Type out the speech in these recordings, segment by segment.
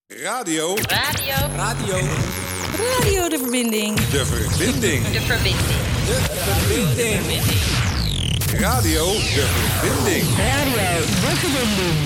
Radio. Radio de Verbinding. De Verbinding. Radio de Verbinding. Radio de Verbinding.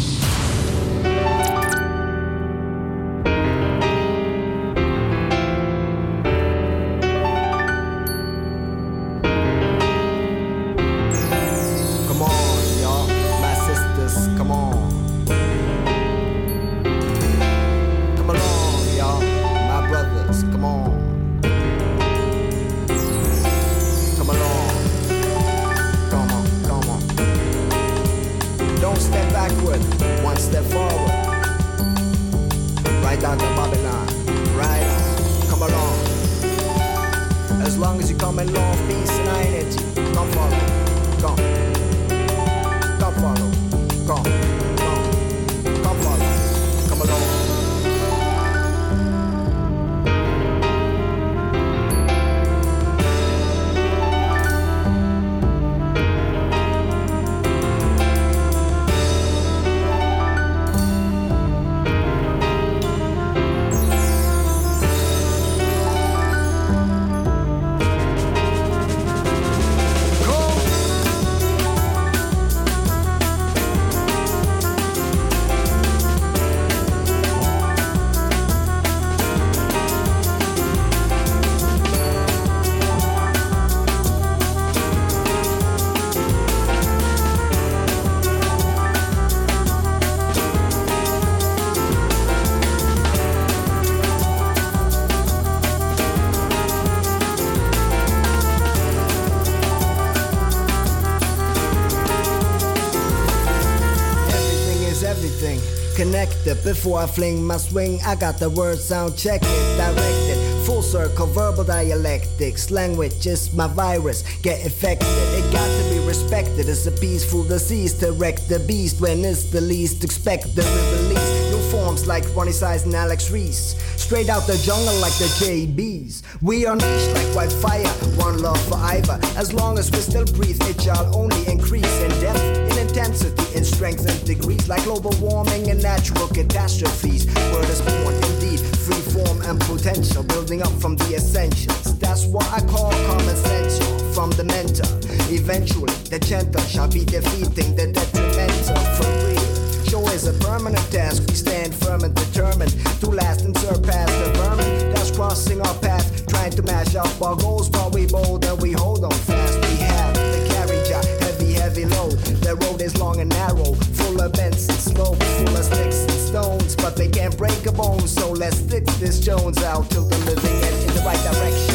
Before I fling my swing, I got the word sound check it, directed, full circle, verbal dialectics, language is my virus, get infected, it got to be respected, it's a peaceful disease to wreck the beast when it's the least expected, we release new forms like Ronnie Size and Alex Reese, straight out the jungle like the JBs, we are niche like wildfire, one love for either, as long as we still breathe, it shall only increase in depth, in intensity, in strength and degrees, like global warming and natural catastrophes. Word is born indeed, free form and potential, building up from the essentials. That's what I call common sense, from the mentor. Eventually, the gentle shall be defeating the detrimental for real. Show is a permanent task, we stand firm and determined to last and surpass the vermin that's crossing our path, trying to mash up our goals while we bold and we hold on fast. We have the carriage, heavy load. The road is long and narrow, full of bends and slopes, full of sticks and stones, but they can't break a bone, so let's stick this Jones out till the living end in the right direction.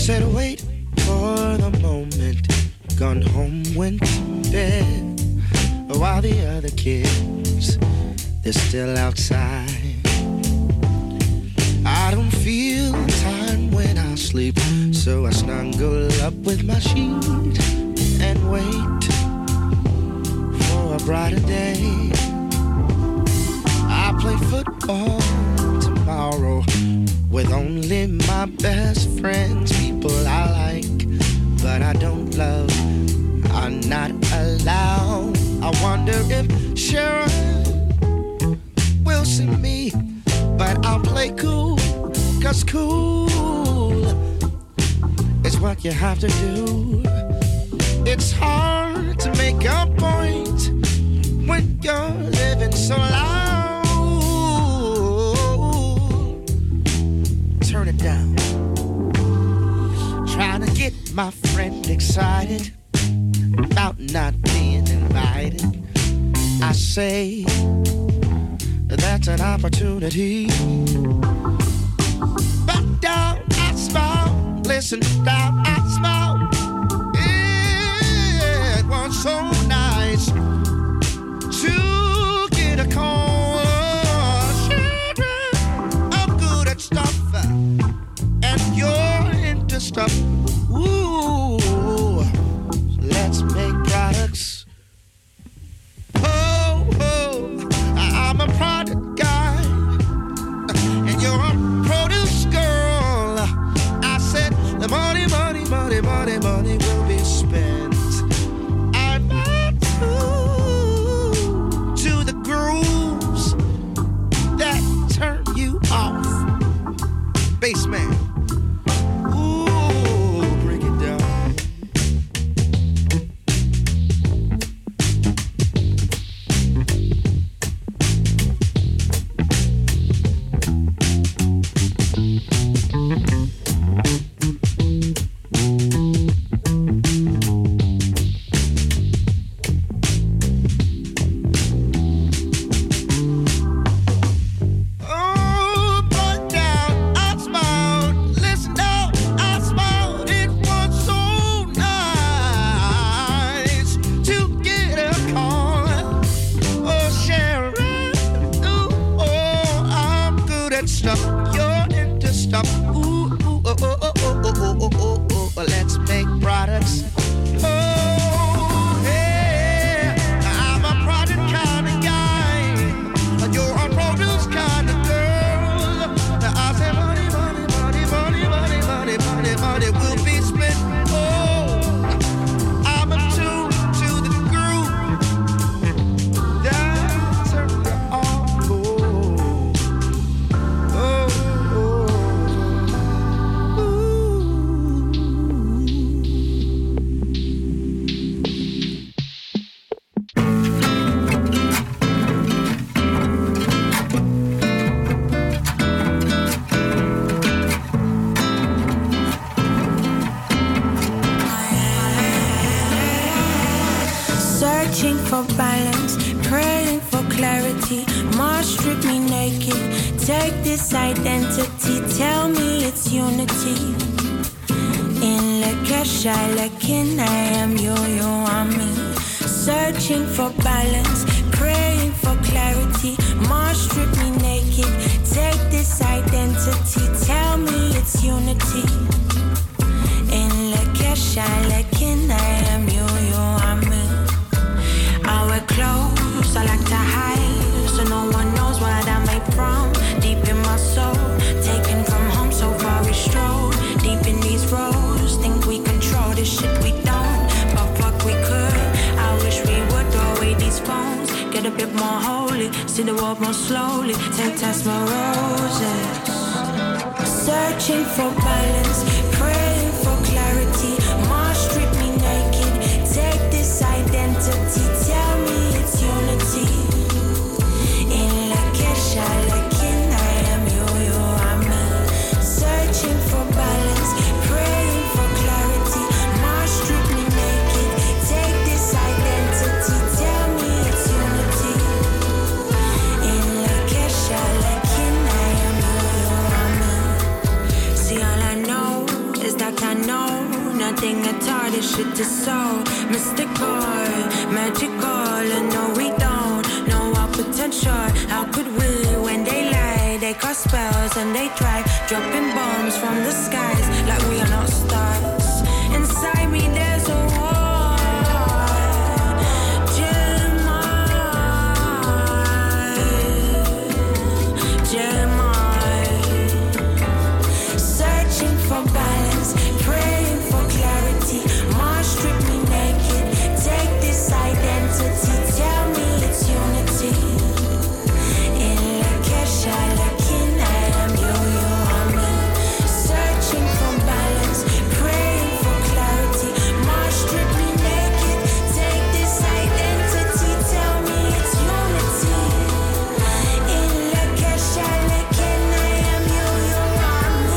Said wait for the moment, gone home, went to bed, while the other kids, they're still outside. I don't feel time when I sleep, so I snuggle up with my sheet and wait for a brighter day. I play football tomorrow with only my best friends, people I like, but I don't love, are not allowed. I wonder if Sharon will see me, but I'll play cool, 'cause cool is what you have to do. It's hard to make a point when you're living so loud. Turn it down. Trying to get my friend excited about not being invited. I say that's an opportunity. But down I smile, listen down I smile. It was so nice to get a call. Sharon, I'm good at stuff, and you're into stuff. Ooh, let's make products. Oh, I'm a product guy, and you're a produce girl. I said the money will be spent. I'm to the grooves that turn you off. Bassman. Let's make products. Oh, yeah, I'm a product kind of guy, and you're a produce kind of girl. I say money will be spent. Oh, I'm attuned to the groove that turns you on. Searching for balance, praying for clarity. Mars strip me naked. Take this identity, tell me it's unity. In Lakesha, Lakin, I am you, you are me. Searching for balance, praying for clarity. Mars strip me naked. Take this identity, tell me it's unity. In Lakesha, Lakin, I am you, you are me. I wear clothes, I like to hide, so no one knows what I'm made from. Deep in my soul, taken from home, so far we stroll. Deep in these roads, think we control this shit we don't, but fuck we could. I wish we would throw away these phones, get a bit more holy, see the world more slowly, take test my roses. Searching for balance, praying for clarity. Mars strip me naked, take this identity, tell me it's unity. In Lakesha, Lakin, I am you, you are me. Searching for balance, praying for clarity. Mars strip me naked, take this identity, tell me it's unity. In Lakesha, Lakin, I am you, you are me. See all I know shit is so mystical, magical, and no we don't know our potential. How could we when they lie? They cast spells and they try dropping bombs from the skies like we are not stars. Inside me there's a war, Jeremiah, searching for balance, praying for clarity. Mars strip me naked, take this identity, tell me it's unity. In Lakesha, Lakin, I am you, you are me. Searching for balance, praying for clarity. Mars strip me naked, take this identity, tell me it's unity. In Lakesha, Lakin, I am you, you are me.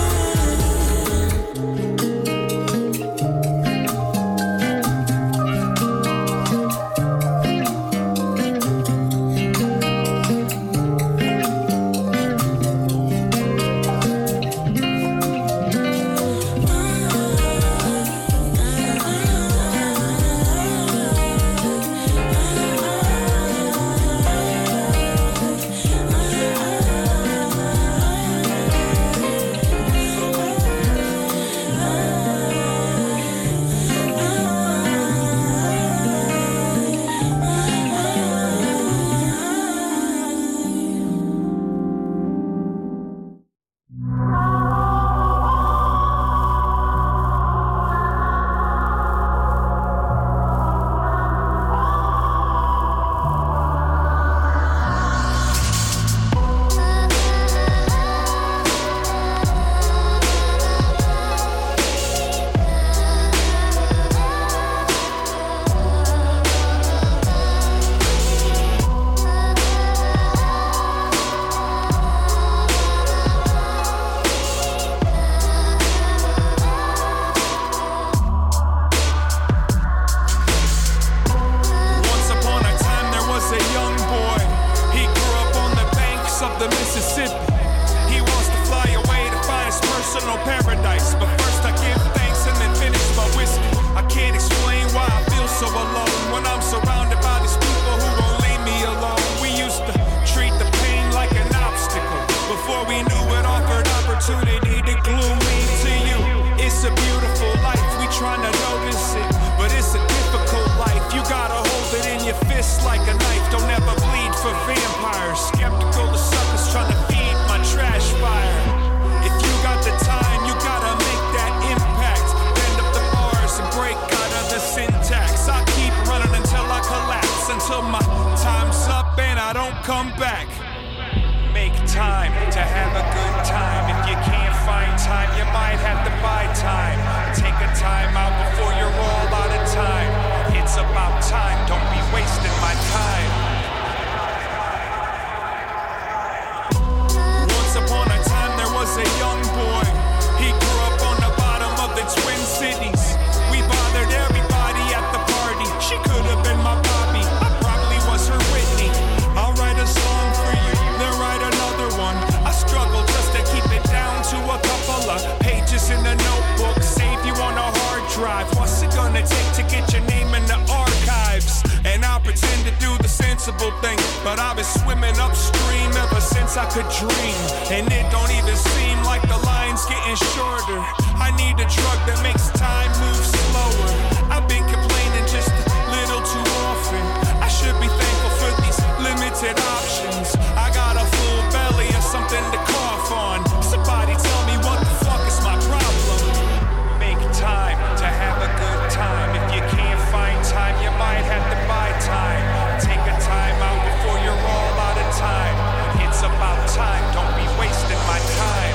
Once upon a time there was a young boy. He grew up on the banks of the Mississippi. He wants to fly away to find his personal paradise. But first I give thanks and then finish my whiskey. I can't explain why I feel so alone when I'm surrounded by these people who won't leave me alone. We used to treat the pain like an obstacle before we knew it offered opportunity to glue me to you. It's a beautiful life, we trying to notice it, but it's a difficult life. You gotta hold it in your fist like a knife. Don't ever bleed for vampires. Skeptical of suckers trying to feed my trash fire. If you got the time, you gotta make that impact. Bend up the bars and break out of the syntax. I keep running until I collapse, until my time's up and I don't come back. Make time to have a good time. If you can't find time, you might have to buy time. Take a time out before you're all out of time. It's about time, don't be wasting my time. Once upon a time there was a young boy. He grew up on the bottom of the Twin Cities. We bothered everybody at the party. She could have been my Bobby, I probably was her Whitney. I'll write a song for you, then write another one. I struggle just to keep it down to a couple of pages in the notebook. Save you on a hard drive. What's it gonna take to get your name in the archives? And I'll pretend to do the sensible thing, but I've been swimming upstream ever since I could dream. And it don't even seem like the line's getting shorter. I need a drug that makes time move slower. I've been complaining just a little too often. I should be thankful for these limited options. I got a full belly of something to cough on. Somebody tell me what the fuck is my problem. Make time to have a good time. If you can't find time, you might have to buy time. Take a time out before you're all out of time. It's about time, don't be wasting my time.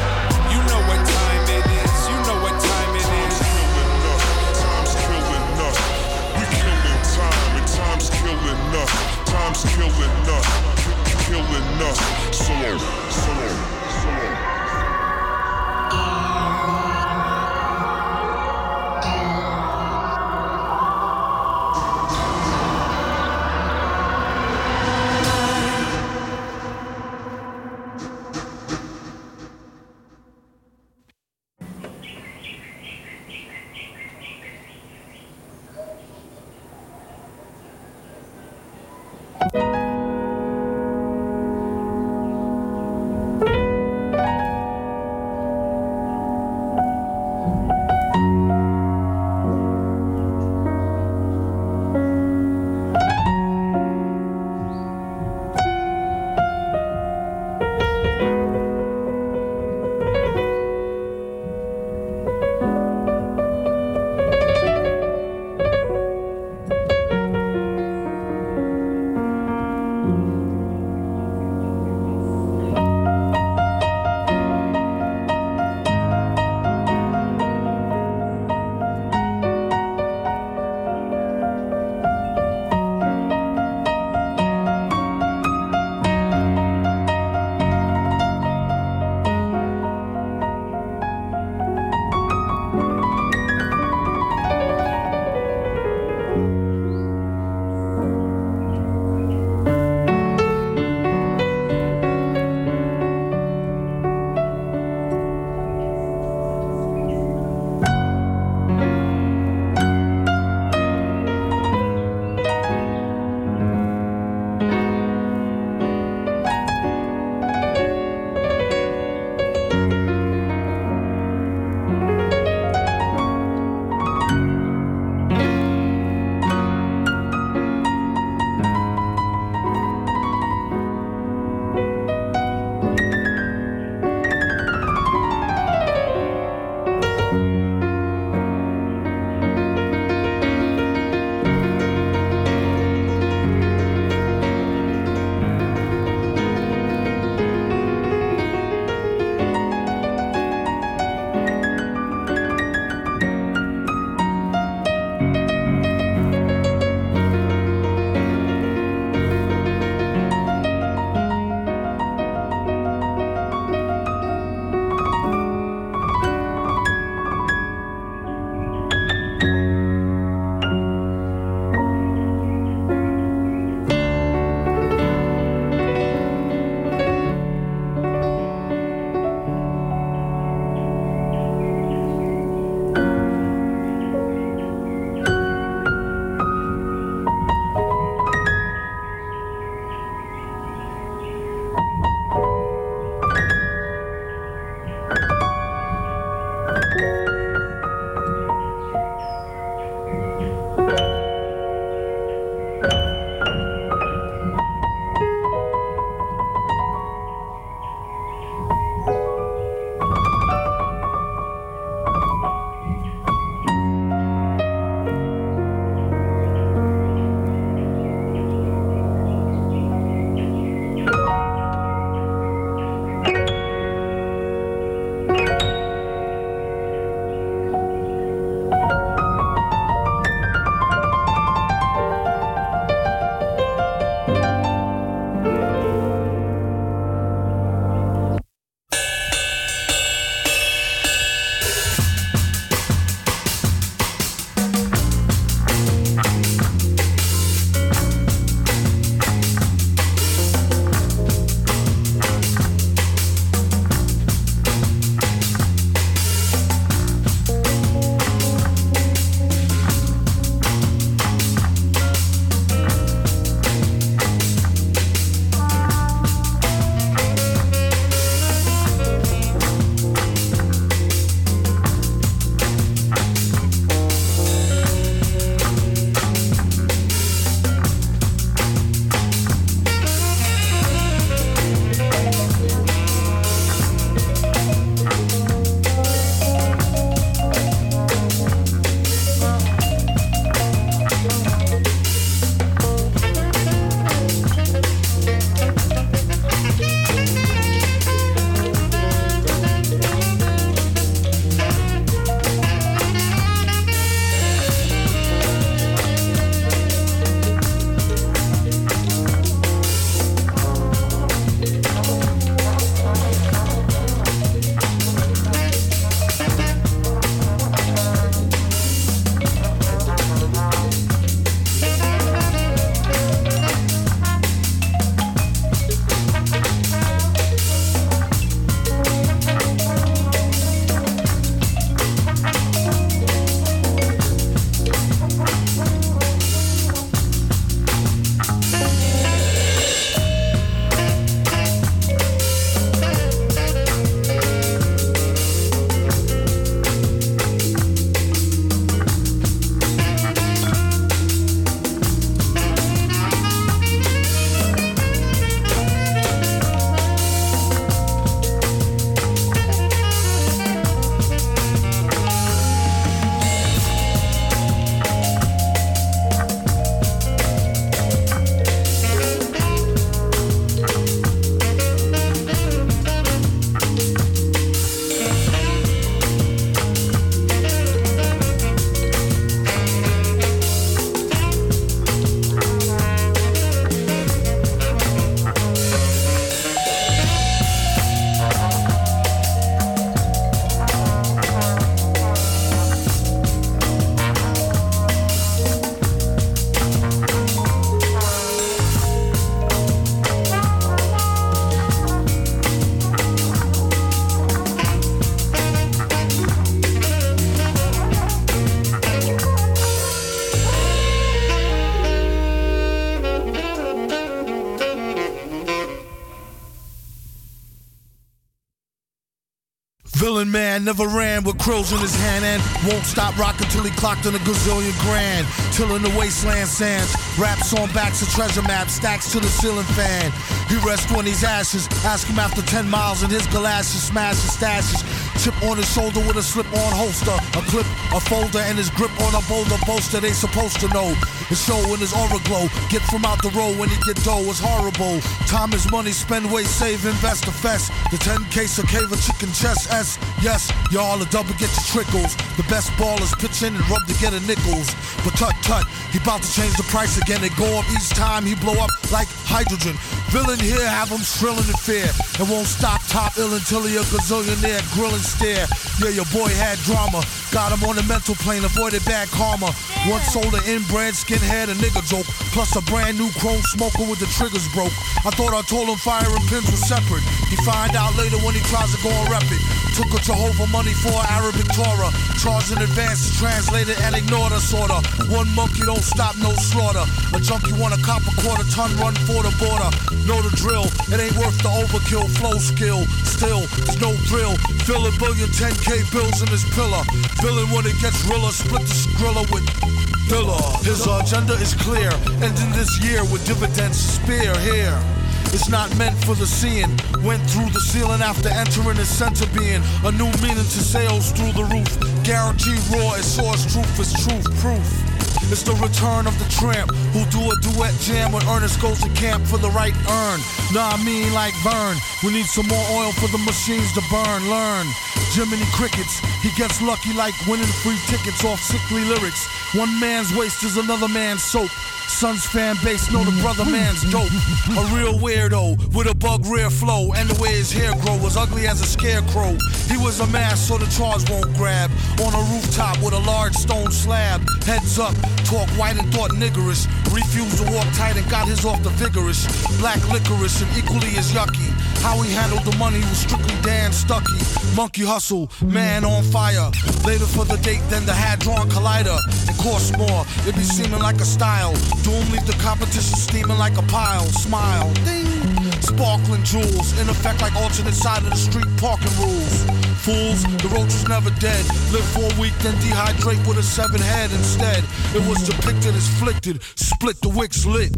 Villain man never ran with krills in his hand and won't stop rocking till he clocked in a gazillion grand. Tilling the wasteland sands, raps on backs of treasure maps, stacks to the ceiling fan. He rests on these ashes, ask him after 10 miles in his galoshes, smash his stashes. Chip on his shoulder with a slip-on holster, a clip, a folder, and his grip on a boulder bolster. They supposed to know. His show in his aura glow. Get from out the road when he get dough is horrible. Time is money, spend, waste, save, invest, the fest. The 10 case of cave of chicken chest S. Yes, y'all a double get your trickles. The best ballers pitch in and rub to get a nickels. But tut, he bout to change the price again. They go up each time he blow up like hydrogen. Villain here have him shrilling in fear. And won't stop top ill until he a gazillionaire. Grill and stare. Yeah, your boy had drama. Got him on the mental plane, avoided bad karma. Once sold an inbred skinhead, a nigga joke. Plus a brand new chrome smoker with the triggers broke. I thought I told him fire and pins were separate. He find out later when he tries to go and rep it. Took a Jehovah money for Arabic Torah. Charged in advance to translate it and ignored us sorta. One monkey don't stop, no slaughter. A junkie want a cop a quarter ton run for the border. Know the drill, it ain't worth the overkill. Flow skill, still, there's no thrill. Fill a billion 10K bills in his pillar. Villain when it gets realer, split the skrilla with Dilla. His agenda is clear, ending this year with dividends spear here. It's not meant for the seeing. Went through the ceiling after entering the center being. A new meaning to sales through the roof. Guaranteed raw as source truth is truth proof. It's the return of the tramp who do a duet jam when Ernest goes to camp for the right earn. Nah, I mean like Vern. We need some more oil for the machines to burn. Learn. Jiminy Crickets. He gets lucky like winning free tickets off sickly lyrics. One man's waste is another man's soap. Son's fan base know the brother man's dope. A real weirdo with a bug rear flow. And the way his hair grow was ugly as a scarecrow. He was a mask so the charge won't grab. On a rooftop with a large stone slab. Heads up, talk white and thought niggerish. Refused to walk tight and got his off the vigorous. Black licorice and equally as yucky. How he handled the money was strictly Dan Stucky. Monkey hustle, man on fire. Later for the date than the hand-drawn collider. It costs more, it be seeming like a style. Doom leave the competition steaming like a pile. Smile, ding. Sparkling jewels, in effect like alternate side of the street parking rules. Fools, the roach was never dead. Live for a week, then dehydrate with a 7 head instead. It was depicted as flicted, split the wicks lit.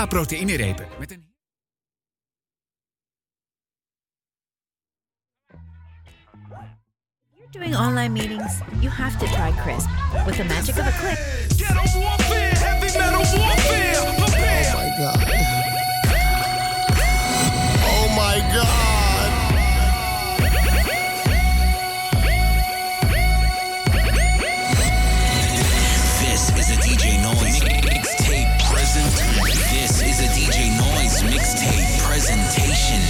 proteïnerepen met een... Doing online meetings, you have to try Crisp. With the magic of a click. Ghetto warfare, heavy metal warfare. Prepare. Oh my God. Oh my God. This is a DJ Noise mixtape present. This is a DJ Noise mixtape presentation.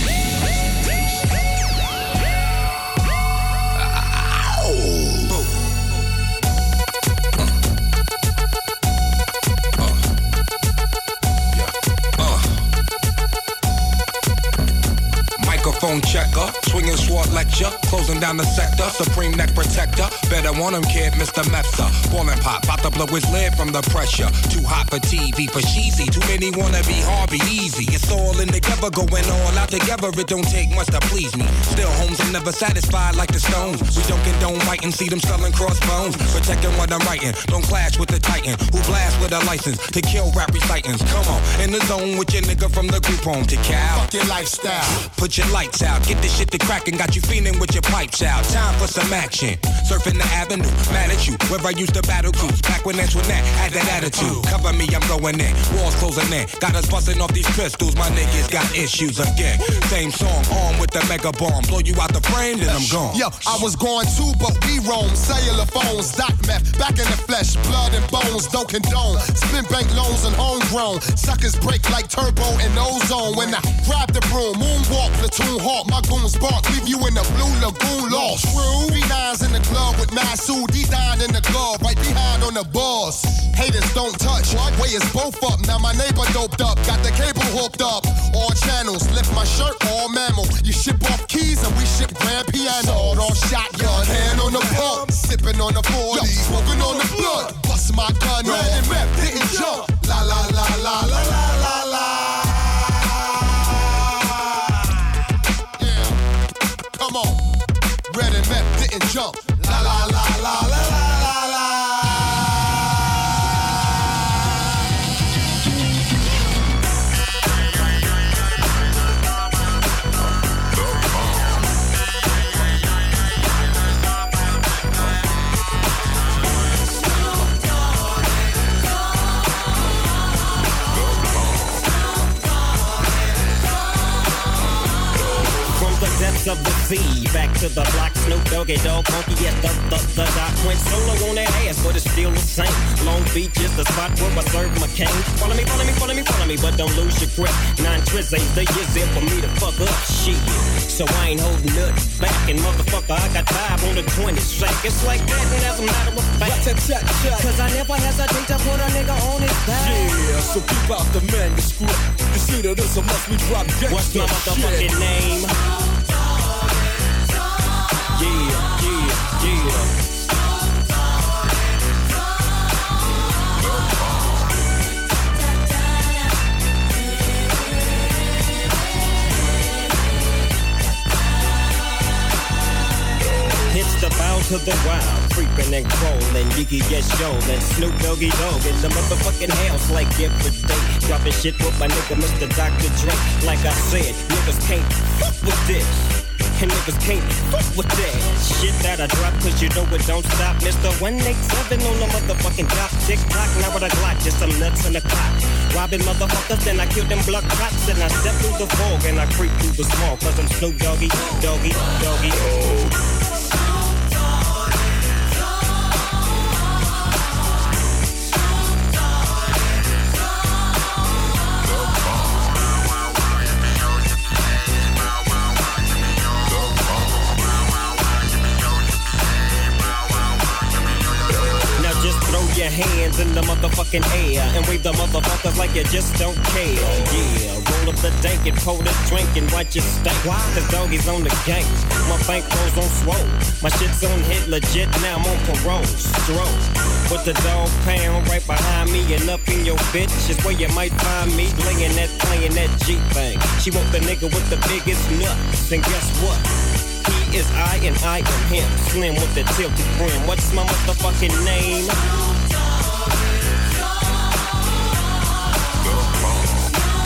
Microphone checker, swinging sword lecture, closing down the sector, supreme neck protector. Better want him, kid, Mr. Mepsa. Ballin' pop, about to blow his lid from the pressure. Too hot for TV, for cheesy. Too many wanna be hard, be easy. It's all in together, going all out together. It don't take much to please me. Still, homes are never satisfied like the Stones. We don't condone writing, see them selling crossbones. Protecting what I'm writing, don't clash with the Titan. Who blast with a license to kill rap recitants. Come on, in the zone with your nigga from the group home to Cal. Fuck your lifestyle. Put your lights out, get this shit to crackin', got you feeling with your pipes out. Time for some action. Surfing the avenue, mad at you. Where I used to battle cruise, back when Antoinette had that attitude. Cover me, I'm going in. Walls closing in. Got us busting off these pistols. My niggas got issues again. Same song, armed with the mega bomb. Blow you out the frame, then I'm gone. Yo, I was going too, but we roam. Cellular phones, doc meth, back in the flesh, blood and bones, don't condone. Spin bank loans and homegrown. Suckers break like turbo and ozone. When I grab the broom, moonwalk, platoon hawk, my goons bark, leave you in the blue lagoon lost. True. B9's in the club with Masu, D9 in the glove, right behind on the boss. Haters don't touch, way is both up. Now my neighbor doped up, got the cable hooked up. All channels, lift my shirt, all mammal. You ship off keys and we ship grand piano. Sawed off shotgun, hand on the pump, sipping on the 40, smoking on the blood. Bust my gun, red and rep, didn't jump. La la la la la la la la. Come on, red and meth didn't jump. La la la la la la la. Depths of the sea, back to the block, Snoop Doggy Dogg, funky at the dot. Went solo on that ass, but it's still the same. Long Beach is the spot where I serve my cane. Follow me, follow me, follow me, follow me, but don't lose your grip. 9 trizz ain't the years in for me to fuck up shit. So I ain't holding nothing back, and motherfucker, I got 5 on the 20 sack. It's like that, and as a matter of fact, cause I never hesitate to put a nigga on his back. Yeah, so keep out the manuscript. You see that this must be drop gangsta. What's my motherfucking name? Yeah, yeah, yeah. It's the bound to the wild, creeping and crawling, Yiggy yes yo, and Snoop Doggy Dogg in the motherfucking house like every day. Dropping shit with my nigga Mr. Dr. Dre. Like I said, niggas can't fuck with this. And niggas can't fuck with that shit that I drop, cause you know it don't stop. Mr. 187 on the motherfucking top. Tick-tock, now with a Glock, just some nuts in the clock. Robbing motherfuckers, then I kill them blood cops. And I step through the fog and I creep through the small. Cause I'm Snoop Doggy, Doggy, Doggy, oh. Your hands in the motherfucking air and wave the motherfuckers like you just don't care. Yeah, roll up the dank and pour the drink and watch it stink. Cause doggies on the gang, my bankrolls on swole. My shit's on hit legit, now I'm on parole. Stroke with the dog pound right behind me and up in your bitch is where you might find me laying that, playing that G thing. She want the nigga with the biggest nuts, and guess what? He is I and I am him. Slim with the tilted brim. What's my motherfucking name?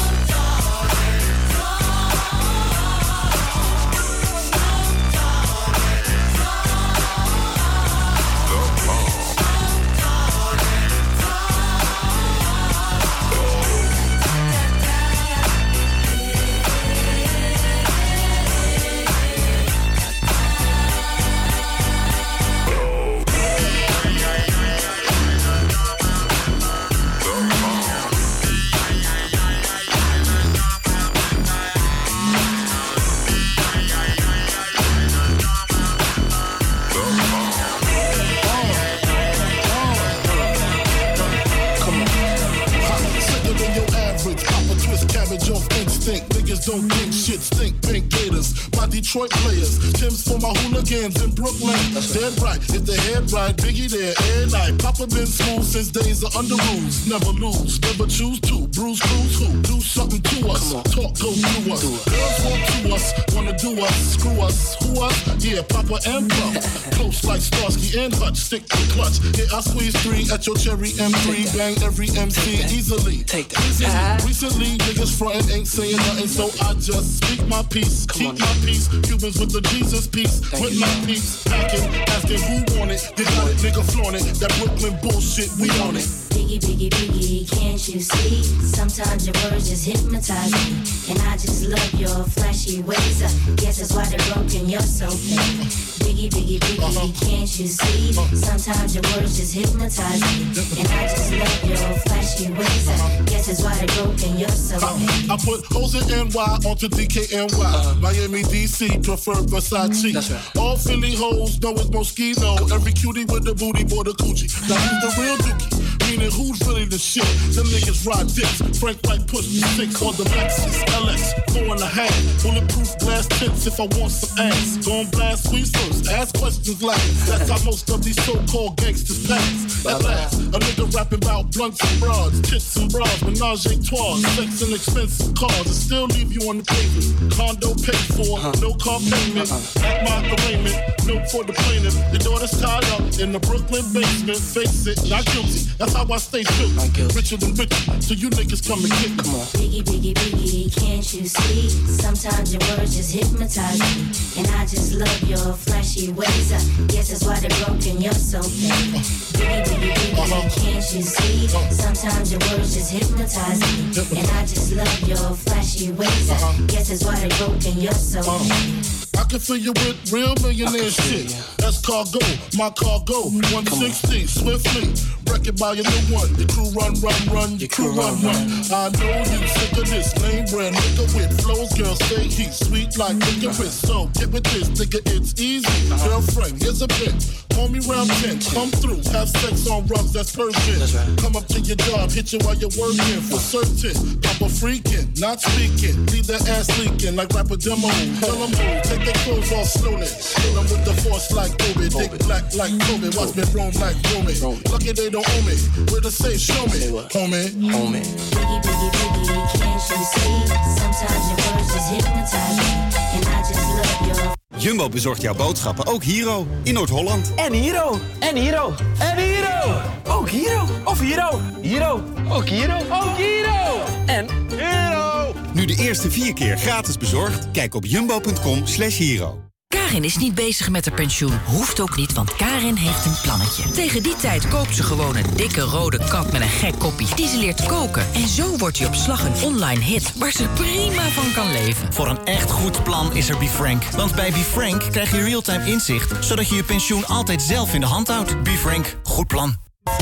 don't think shit stink, pink gators. My Detroit players, Tim's for my hooligans in Brooklyn. Dead right, if the head right, Biggie there, every night. Papa been smooth since days of under rules. Never lose, never choose to. Bruise, cruise, who? Do something to us. Talk, go through us. Girls want to us, wanna do us, screw us. Who us? Yeah, Papa and Pop. Close like Starsky and Hutch, stick to clutch. Yeah, I squeeze 3 at your cherry M3. Bang every MC easily. Take that. Recently, niggas frontin' ain't saying nothing, so I just speak my peace. Keep my peace. Cubans with the Jesus peace. With my peace. Packing, asking who want it. You got it, nigga flaunt it. That Brooklyn bullshit, we on it. Biggie, biggie, biggie, can't you see? Sometimes your words just hypnotize me. And I just love your flashy ways. Guess that's why they're broken, you're so fake. Biggie, biggie, biggie, can't you see? Sometimes your words just hypnotize me. And I just love your flashy ways. Guess that's why they're broken, you're so fake. I put hoes in NY onto DKNY. Miami, DC, prefer Versace. That's right. All Philly hoes know it's Moschino. Every cutie with the booty for the coochie. Now who's the real dookie? Meaning who's really the shit? Them niggas ride dicks. Frank White push the 6 on the Lexus LX 4.5. Bulletproof glass tips if I want some ass. Gon' blast squeeze first, ask questions last. That's how most of these so-called gangsters pass. At last, a nigga rapping about blunts and broads, tits and bras, menage a trois, sex and expensive cars, and still leave you on the pavement. Condo paid for, no car payment. At my arraignment, note for the plaintiff. Your daughter's tied up in the Brooklyn basement. Face it, not guilty. That's how I stay true. Richer than rich, so you niggas come and get me. Come on. Biggie, biggie, biggie, can't you see? Sometimes your words just hypnotize me. And I just love your flashy ways. Guess that's why they're broken, you're so fake. Biggie, biggie, biggie, can't you see? Sometimes your words just hypnotize me. And I just love your flashy ways. Guess that's why they're broken, you're so fake. I can fill you with real millionaire shit. That's cargo, my cargo. 160, swiftly. Wreck it by your new one. Your crew run, your crew run. I know you sick of this lame brand nigga with flows. Girls say he's sweet like licorice. So get with this, nigga, it's easy. Girlfriend, here's a bitch. Call me round 10, come through, have sex on rugs, that's Persian. Right. Come up to your job, hit you while you're working. For certain, Papa freaking, not speaking. Leave that ass leaking like rapper demo. Tell them move, take their clothes off slowly. Kill them with the force like Kobe. Dick black like Kobe, watch me roam like Romy. Lucky they don't owe me, where to say show me, homie. Biggie, biggie, biggie, can't you see? Sometimes your words just hypnotize me. And I just love your... Jumbo bezorgt jouw boodschappen, ook Hero, in Noord-Holland. En Hero, en Hero, en Hero. Ook Hero, of Hero. Hero, ook Hero, ook Hero. En Hero. Nu de eerste 4 keer gratis bezorgd? Kijk op jumbo.com/hero. Karin is niet bezig met haar pensioen. Hoeft ook niet, want Karin heeft een plannetje. Tegen die tijd koopt ze gewoon een dikke rode kap met een gek koppie. Die ze leert koken. En zo wordt je op slag een online hit waar ze prima van kan leven. Voor een echt goed plan is er BeFrank. Want bij BeFrank krijg je real-time inzicht, zodat je je pensioen altijd zelf in de hand houdt. BeFrank, goed plan.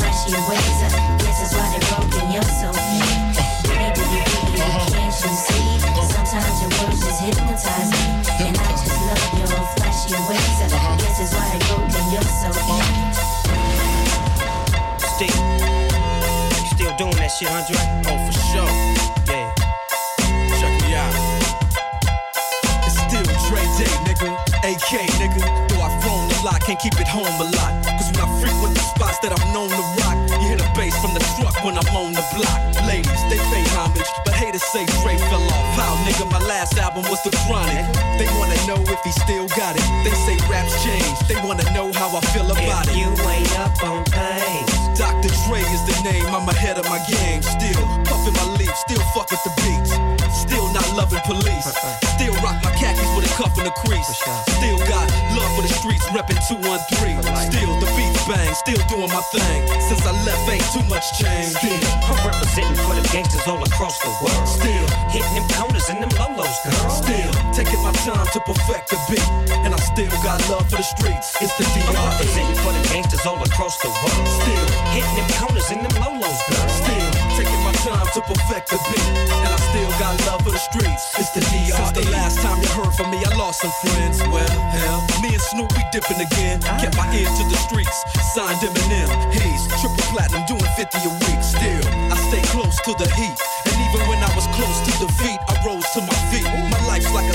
Still doing that shit, Andre? Oh, for sure. Yeah. Check me out. It's still Dre Day, nigga. AK, nigga. Though I've grown a lot, can't keep it home a lot. Cause when I frequent the spots that I'm known to rock, you hear the bass from the truck when I'm on the block. Ladies, they pay homage, but haters say Dre fell off. How, nigga, my last album was The Chronic. They wanna know if he still got it. They say raps change, they wanna know how I feel about it. You ain't up on things. Dr. Dre is the name, I'm ahead of my game. Still puffin' my leaf, still fuck with the beats. Still not loving police. Still rock my khakis with a cuff and a crease. Still got love for the streets, reppin' 213. Still the beats bang, still doing my thing. Since I left, ain't too much change. Still, I'm representing for the gangsters all across the world. Still hitting them counters and them lolos, girl. Still taking my time to perfect the beat. And I still got love for the streets. It's the DR. I'm representing for the gangsters all across the world. Still hitting them counters and them lolos, girl. Still taking my time to perfect the beat. And I still got love for the streets. It's the DR. Since the last time you heard from me, I lost some friends. Well, hell, me and Snoop, we dipping again. Kept my ear to the streets. Signed Eminem. Hayes, triple platinum, doing 50 a week. Still, I stay close to the heat. And even when I was close to defeat, I rose to my feet.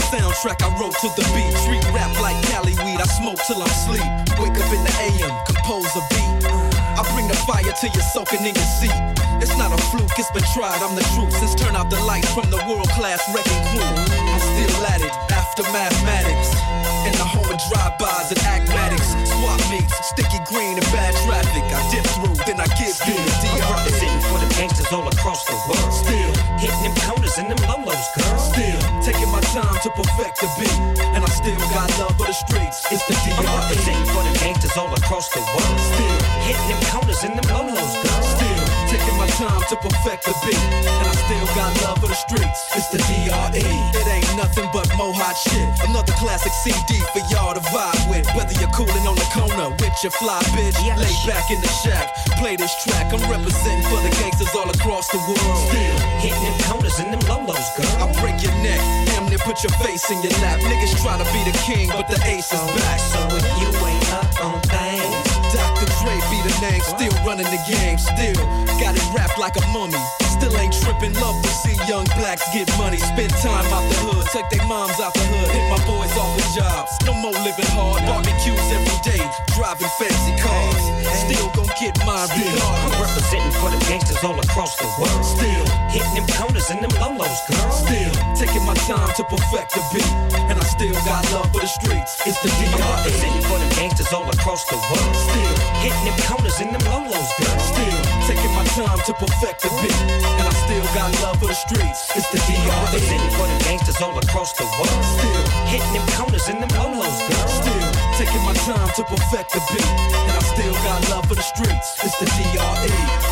soundtrack I wrote to the beat. Street rap like Cali weed, I smoke till I'm asleep. Wake up in the AM, compose a beat. I bring the fire till you're soaking in your seat. It's not a fluke, it's been tried, I'm the truth. Since turn out the lights from the world-class wrecking crew, I'm still at it, after mathematics. In the home of drive-bys and acmatics. Swap meets, sticky green and bad traffic. I dip through, then I give you the DR. I'm representing for the gangsters all across the world. Still hitting them corners and them lolos, girl. Still taking my time to perfect the beat. And I still got love for the streets. It's the DR. I'm representing for the gangsters all across the world. Still hitting them corners and them lolos, girl. Still taking my time to perfect the beat. And I still got love for the streets. It's the DRE. It ain't nothing but mohawk shit. Another classic CD for y'all to vibe with. Whether you're cooling on the corner with your fly bitch, lay back in the shack, play this track. I'm representing for the gangsters all across the world. Still hitting them corners and them lolos, girl. I break your neck, damn near put your face in your lap. Niggas try to be the king, but the ace is back. So if you ain't up on things, Dr. Dre be the name, still running the game. Still got it wrapped like a mummy. Still ain't tripping, love to see young blacks get money. Spend time out the hood, take their moms out the hood. Hit my boys off with jobs, no more living hard. Barbecues every day, driving fancy cars. Still gon' get mine regardless. I'm representing for the gangsters all across the world. Still hitting them corners and them lolos, girl. Still taking my time to perfect the beat. And I still got love for the streets. It's the DR. I'm representing for the gangsters all across the world. Still hitting them corners and them lolos, girl. Still taking my time to perfect the beat. And I still got love for the streets. It's the DR. I'm representing for the gangsters all across the world. Still hitting them corners and them lolos, girl. Still taking my time to perfect the beat. And I still got love for the streets. It's the DRE.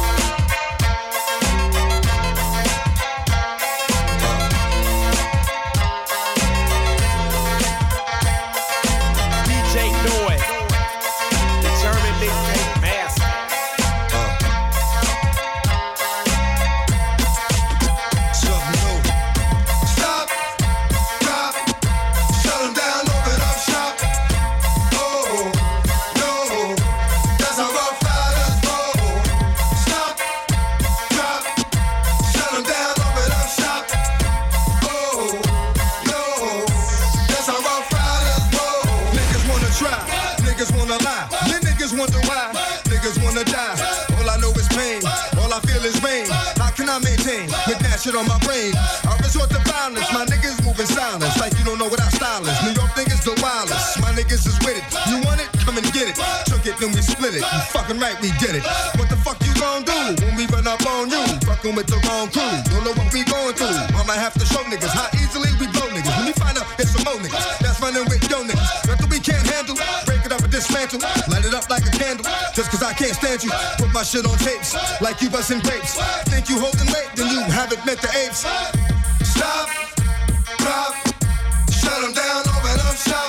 Shit on my brain, I resort to violence. My niggas moving silence, like you don't know what our style is. New York niggas the wildest, my niggas is with it. You want it? Come and get it. Took it, then we split it. You fucking right, we did it. What the fuck you gon' do when we run up on you? Fucking with the wrong crew. Don't know what we going through. I might have to show niggas how easily we blow niggas. When we find out it's some more niggas that's running with yo niggas. Nothing we can't handle. Break it up and dismantle. Light it up like a candle. Just cause I can't stand you. Put my shit on tapes like you bustin' grapes. Think you holding weight, then you haven't met the apes. Stop, drop, shut them down, open up shop.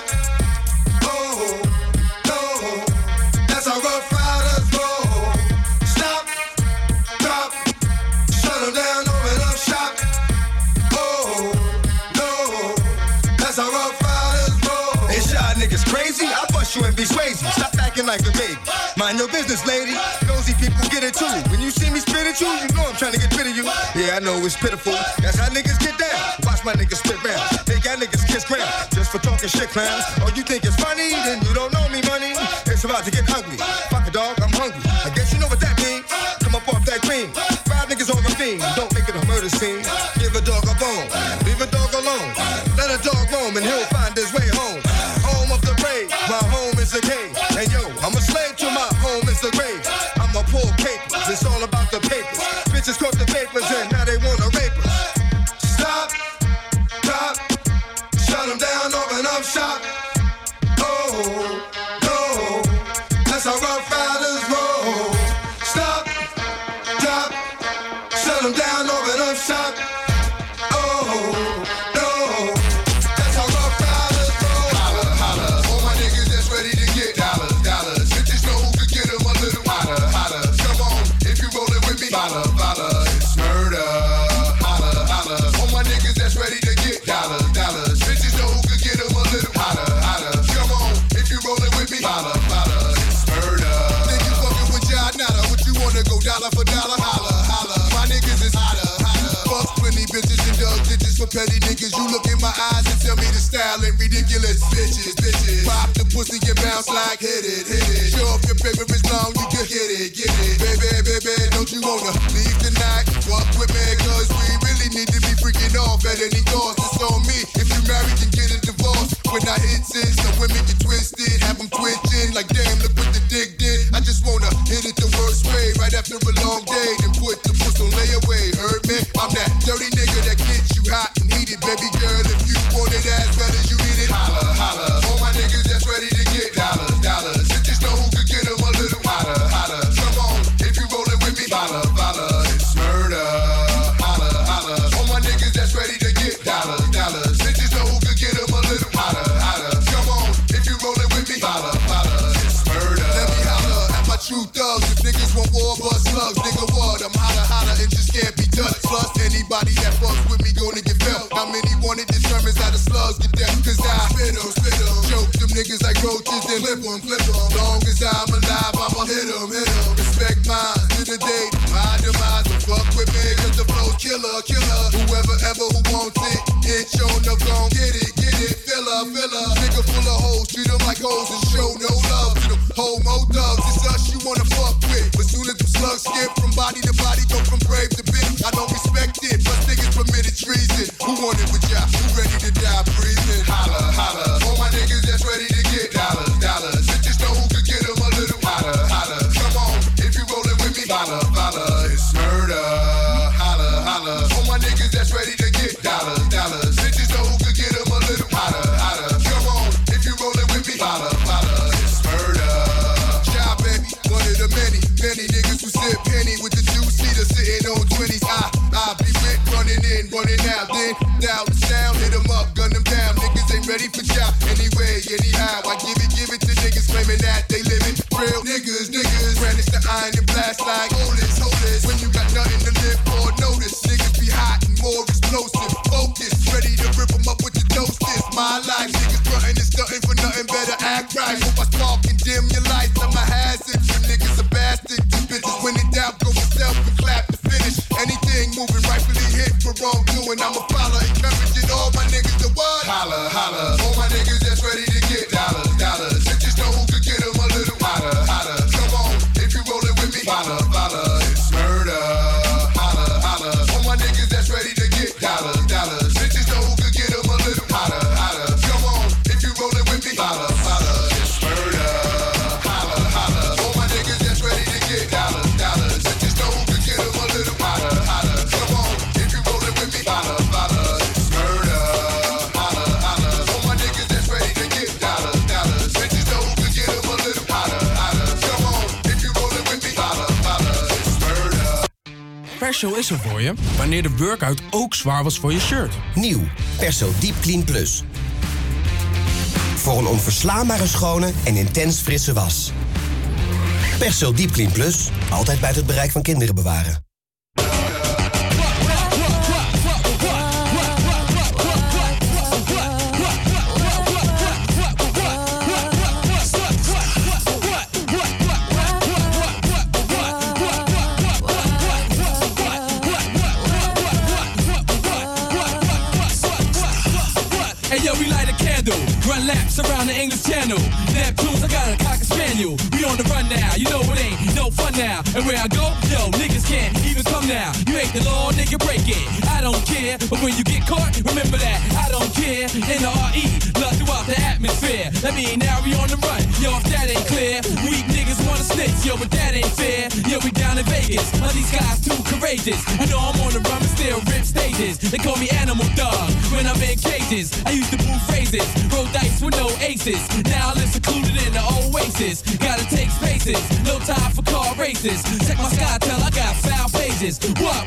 Oh, no, that's how Rough Riders roll. Stop, drop, shut them down, open up shop. Oh, no, that's how Rough Riders roll. It's y'all niggas crazy, I'll bust you and be crazy. Stop acting like a baby. Mind your business, lady. Nosy people get it too. When you see me spit at you, you know I'm trying to get rid of you. Yeah, I know it's pitiful. That's how niggas get down. Watch my niggas spit round. They got niggas kiss ground. Just for talking shit, clowns. Oh, you think it's funny? Then you don't know me, money. It's about to get ugly. Fuck a dog, I'm hungry. I guess you know what that means. Come up off that cream. 5 niggas on the theme. Don't make it a murder scene. Give a dog a bone. Leave a dog alone. Let a dog roam and he'll find his way home. Home of the brave. My home is the cave. And yo, I'm a slave to my home is the grave. I'm a poor capers. It's all about the papers. Bitches caught the papers and now they wanna rape us. Stop, drop, shut them down, open up shop. Oh, no, that's how Rough Riders roll. Stop, drop, shut them down, open up shop. Oh, no, that's how Rough Riders roll. Holla, holla, all my niggas that's ready to get dollars, dollars. Bitches know who could get them a little hotter, hotter. Come on, if you rollin' with me, holla, holla, it's murder. Holla, holla, all my niggas that's ready to get dollars, dollars. Bitches know who could get them a little hotter, hotter. Come on, if you rollin' with me, holla, holla, it's murder. Niggas fucking with y'all, nada. What you wanna go dollar for dollar? Holla, holla, my niggas is hotter, hotter. Fuck plenty bitches and dug digits for petty niggas. You look in my eyes and tell me to bitches, bitches. Pop the pussy and bounce like hit it. Show off your paper is long, you can get it. Baby, don't you wanna leave tonight? Walk with me, cause we really need to be freaking off at any cost. It's on me. If you married, then get a divorce. When I hit sis, some women get twisted, have them twitching like damn, look what the dick did. I just wanna hit it the worst way, right after a long day, then put the puss on layaway. Heard me? I'm that dirty nigga that gets you hot and heated, baby girl. If you want it as bad as you need it, holla, holla. All my niggas that's ready to get dollars. Just know who could get them a little hotter. Come on, if you rollin' with me, follow. It's murder, holla. All my niggas that's ready to get dollars. Just know who could get them a little hotter. Come on, if you rollin' with me, follow. It's murder. Let me holla at my true thugs. If niggas want war, bust slugs, nigga what? I'm holla and just can't be touched. Plus anybody that fucks with me gonna get felt. How many want it determines how the slugs get dealt. Cause I spit 'em, choke them niggas like roaches, then flip 'em. Long as I'm alive, I'ma hit 'em. Respect mine to the day, my demise. Don't fuck with me, cause the flow's killer. Whoever ever who wants it, it's shown up, gon' get it. Filler. Nigga full of hoes, treat them like hoes and show no love to them homo thugs. It's us you wanna fuck with. But soon as the slugs skip from body to body, go from brave to bitch. I don't respect it, plus niggas permitted treason. Who want it with ya? Who ready to die breathing? Holla. All my niggas that's ready to get dollars. Just know who could get them a little hotter. Come on, if you rollin' with me, follow. It's murder, holla. All my niggas that's ready to get dollars. Just know who could get them a little hotter. Come on, if you rollin' with me, follow. It's murder. Child baby, one of the many niggas who sip penny with the two-seater sitting on 20s. I be with running in, running out, then down the sound, hit 'em up, gun them down. Niggas ain't ready for job anyway, anyhow. I give it to niggas claiming that they living real niggas. Brandish the iron and blast like hold this. When you got nothing to live for, notice niggas be hot and more explosive. Focus, ready to rip 'em up with the dose. This my life, niggas frontin' and stuntin' for nothing better. Act right, hope I spark and dim your lights. I'm a hazard, you niggas a bastard. You bitches when in doubt, go yourself and clap to finish. Anything moving rightfully hit for wrongdoing, I'm a follower, encouraging all my niggas to what? Holla. All my niggas that's ready to get dollars. Just know who could get them a little hotter. Come on, if you rollin' with me, follow. It's murder, holla. All my niggas that's ready to get dollars. Just know who could get them a little hotter. Come on, if you rollin' with me, follow. It's murder, holla. All my niggas that's ready to get dollars. Just know who could get them a little hotter. Come on, if you rollin' with me, follow. It's murder, holla. All my niggas that's ready to get dollars. Just know who could get them a little hotter. Come on, if you rollin' with me, follow. It's murder. Perso is er voor je wanneer de workout ook zwaar was voor je shirt. Nieuw, Perso Deep Clean Plus. Voor een onverslaanbare schone en intens frisse was. Perso Deep Clean Plus, altijd buiten het bereik van kinderen bewaren. Hey yo, we light a candle, run laps around the English Channel. Neptunes, I got a cocker spaniel. We on the run now, you know it ain't no fun now. And where I go, yo, niggas can't even come now. You ain't the law, nigga, break it. I don't care, but when you get caught, remember that I don't care. N-R-E, love throughout the atmosphere. That mean now we on the run, yo, if that ain't clear. Weak niggas wanna snitch, yo, but that ain't fair. Yo, we down in Vegas, all these guys too courageous. I know I'm on the run, but still rip stages. They call me Animal Dog when I'm in cages. I used to move phrases, roll dice with no aces. Now I live secluded in the oasis. Gotta take spaces, no time for car races. Check my sky, tell I got foul pages. What?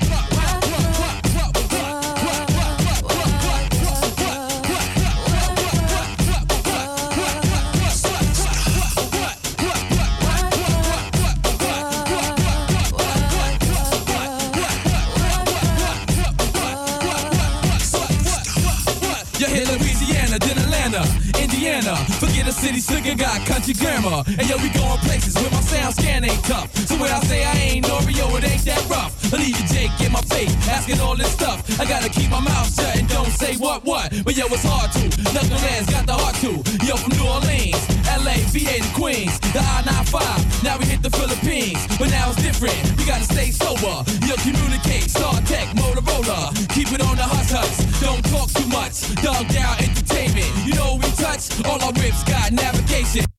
You hit Louisiana, then Atlanta. Atlanta, Indiana. Forget a city slicker, got country grammar. And yo, we going places where my sound scan ain't tough. So when I say I ain't Oreo, it ain't that rough. I leave you Jake in my face, asking all this stuff. I gotta keep my mouth shut and don't say what. But yo, it's hard to. Knuckleheads got the heart to. Yo, from New Orleans, LA, VA to Queens, the I-95. Now we hit the Philippines, but now it's different. We gotta stay sober. Yo, communicate, Star Tech, Motorola. Keep it on the hush. Don't talk too much. Dog down entertainment. You know we touch. All our rips got navigation.